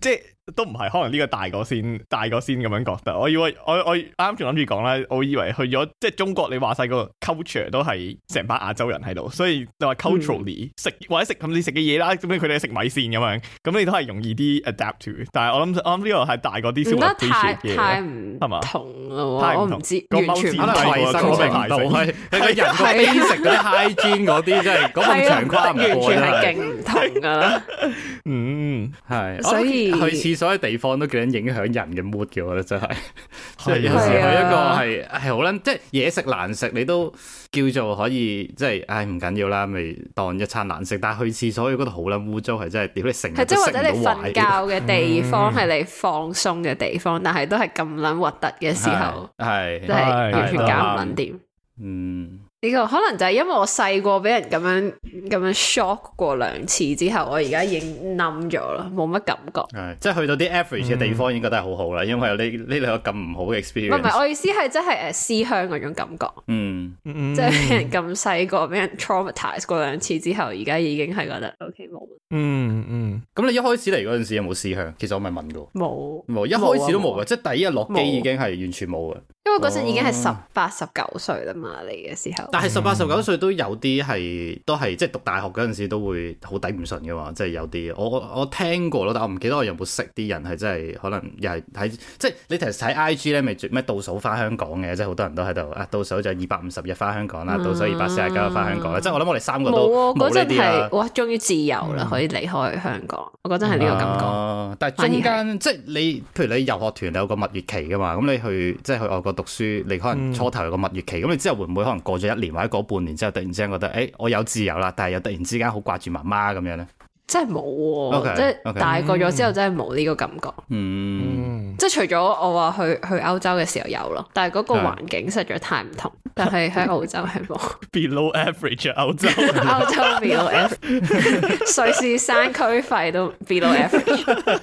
都唔係，可能呢個大個先咁樣覺得。我以為我啱仲諗住講啦，我以為去咗即係中國，你話晒個 culture 都係成班亞洲人喺度，所以你話 culturally 食或者食咁你食嘅嘢啦，咁樣佢哋食米線咁樣，咁你都係容易啲 adapt to。但係我諗呢個係大個啲先會 appreciate 嘅， 太唔同咯， 太我唔知個完全可能衞生程度係你個人個 basic 嗰啲 hygiene 嗰啲，真係嗰咁長跨唔過， 完全係勁唔同噶啦。 係， 所以去廁所嘅地方都幾影響人嘅 mood 嘅，我覺得真係。即係有時去一個係好撚，即係嘢食難食，你都叫做可以，即係唉唔緊要啦，咪當一餐難食。但係去廁所嗰度好撚污糟，係真係屌你成日都食唔到壞。係即係或者你瞓覺嘅地方係你放鬆嘅地方，但係都係咁撚核突嘅時候，係真係完全搞唔撚掂。呢個可能就係因為我細個俾人咁樣 shock 過2次之後，我而家已經冧咗啦，冇乜感覺。 即係去到啲 average 嘅地方已經覺得係好好啦，因為有呢兩個咁唔好嘅 experience。 唔係，我意思係即係思鄉嗰種感覺。即係俾人咁細個俾人 traumatize 過2次之後，而家已經係覺得 OK 冇。 咁你一開始嚟嗰陣時有冇思鄉？其實我咪問過。 冇， 一開始都冇嘅，即係第一日落機已經係完全冇嘅。 因為嗰陣已經係18、19歲啦嘛，嚟嘅時候。 但係18、19歲都有啲都係即係讀大學嗰陣時都會好抵唔順嘅嘛，即係有啲我聽過咯，但我唔記得我有冇識啲人係真係可能又係睇即係你其實睇 IG 咧，咪咩倒數翻香港嘅，即係好多人都喺度倒數就250日翻香港啦，倒數249日翻香港啦，即係我諗我哋3個都冇呢啲啦。 哇，終於自由啦，可以離開香港，我覺得係呢個感覺。 但係中間即係你，譬如你遊學團你有個蜜月期噶嘛，咁你即係去外國讀書，你可能初頭有個蜜月期，咁你之後會唔會可能過咗1年或者過半年之後，突然之間覺得我有自由啦，但係又突然之間好掛住媽媽咁樣咧？ 真係冇喎，即係大個咗之後真係冇呢個感覺。即係除咗我話去歐洲嘅時候有咯，但係嗰個環境實在太唔同。但係喺澳洲係冇。 Below average 歐洲 below average， 瑞士山區費都 below average。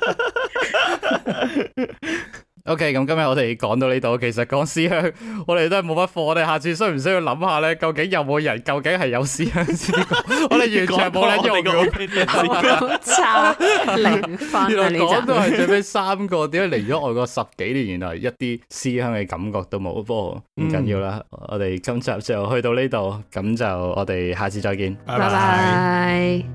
OK， 咁今日我哋講到呢度，其實講思鄉，我哋都係冇乜課。我哋下次需唔需要諗下咧？究竟有冇人究竟係有思鄉先？我哋完全冇人用嘅， 好差0分。 原來講到係最尾3個，點解嚟咗外國10幾年，原來一啲思鄉嘅感覺都冇。不過唔緊要啦，我哋今集就去到呢度，咁就我哋下次再見， 拜拜。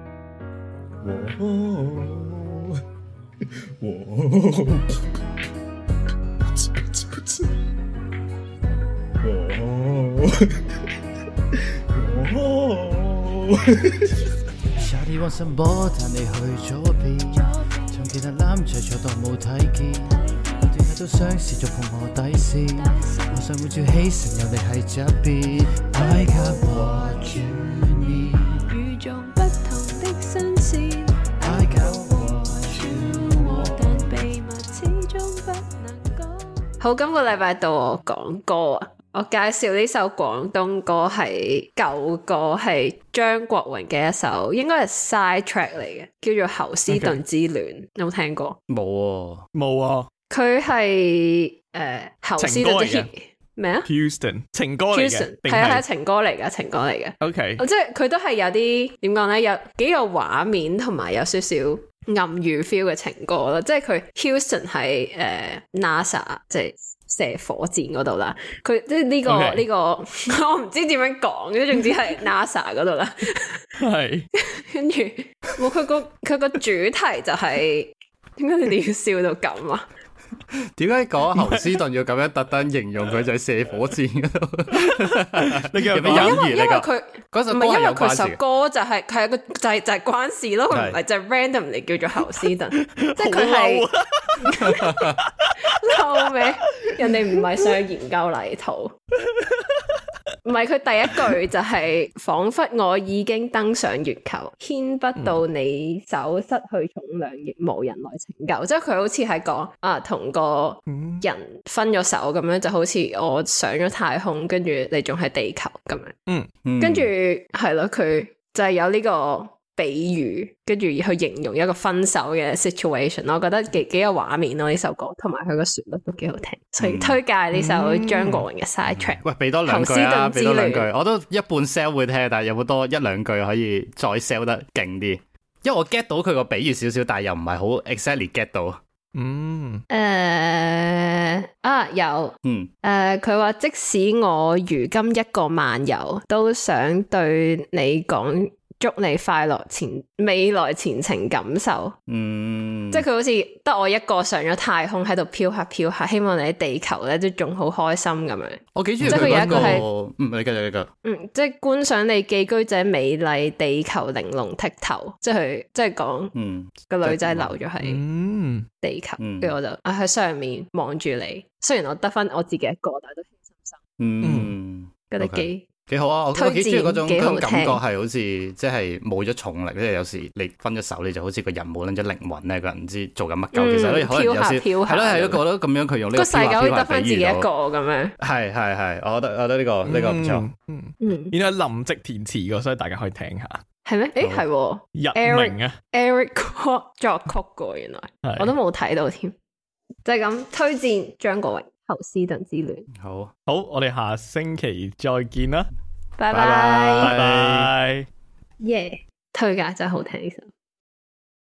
夏天往上波，但你去咗邊？從其他男仔坐當冇睇見，我哋喺度嘗試着碰我底線，我想會照起身，有你喺側邊。I got what you need，與眾不同的新鮮。I got what you want，但秘密始終不能講。 好，今個禮拜到我講歌啊！我介紹呢首廣東歌係舊歌，係張國榮嘅一首，應該係 side track 嚟嘅，叫做《侯斯頓之戀》。有冇聽過？ 冇啊！ 佢係侯斯頓之咩啊 ？Houston 情歌嚟嘅， 係情歌嚟嘅，情歌嚟嘅。 OK， 即係佢都係有啲點講咧，有幾個畫面同埋有少少暗喻 feel 嘅情歌咯。即係佢 Houston 係NASA 即係射火箭嗰度啦，佢即係呢個我唔知點樣講，總之係 NASA 嗰度啦。 係， 跟住佢個主題就係點解你哋要笑到咁啊？ 點解講侯斯頓要咁樣特登形容佢就係射火箭嗰度？你有咩隱喻？因為佢嗰首歌係有關事。首歌就係佢係個就係關事咯，佢唔係就 random 嚟叫做侯斯頓，即係佢係嬲咩？人哋唔係想研究泥土。唔係，佢第一句就係仿佛我已經登上月球，牽不到你手，失去重量亦無人來拯救。即係佢好似係講同個人分咗手咁樣，就好似我上咗太空，跟住你仲係地球咁樣。跟住係咯，佢就係有呢個比喻，跟住去形容一個分手嘅 situation， 我覺得幾有畫面咯呢首歌，同埋佢個旋律都幾好聽，所以推介呢首張國榮嘅 side track。 喂，俾多兩句啊，俾多兩句，我都一半 sell 會聽，但係有冇多一兩句可以再 sell 得勁啲？因為我 get 到佢個比喻少少，但係又唔係好 exactly get 到。 有，佢話即使我如今一個漫遊，都想對你講。祝你快樂未來前程感受，即係佢好似得我一個上咗太空喺度飄下飄下，希望你喺地球咧都仲好開心咁樣。 我幾中意佢有一個係，你繼續。 即係觀賞你寄居者美麗地球玲瓏剔透，即係講，個女仔留咗喺地球，跟住我就喺上面望住你。雖然我得翻我自己一個，但係都輕心心。覺得幾好啊！我幾中意嗰種感覺，係好似即係冇咗重力，即係有時你分咗手，你就好似個人冇撚咗靈魂咧，個人唔知做緊乜鳩。其實咧可能有時係咯，係咯，覺得咁樣佢用呢個世界可以得翻自己一個咁樣。係，我覺得呢個唔錯。 原來林夕填詞嘅，所以大家可以聽下。 係咩？係日明啊 ，Eric Kwok 作曲嘅，原來我都冇睇到添。就係咁推薦張國榮。侯斯頓之戀， 好，我哋下星期再見啦， 拜拜， 拜拜， 耶，推介真係好聽呢首。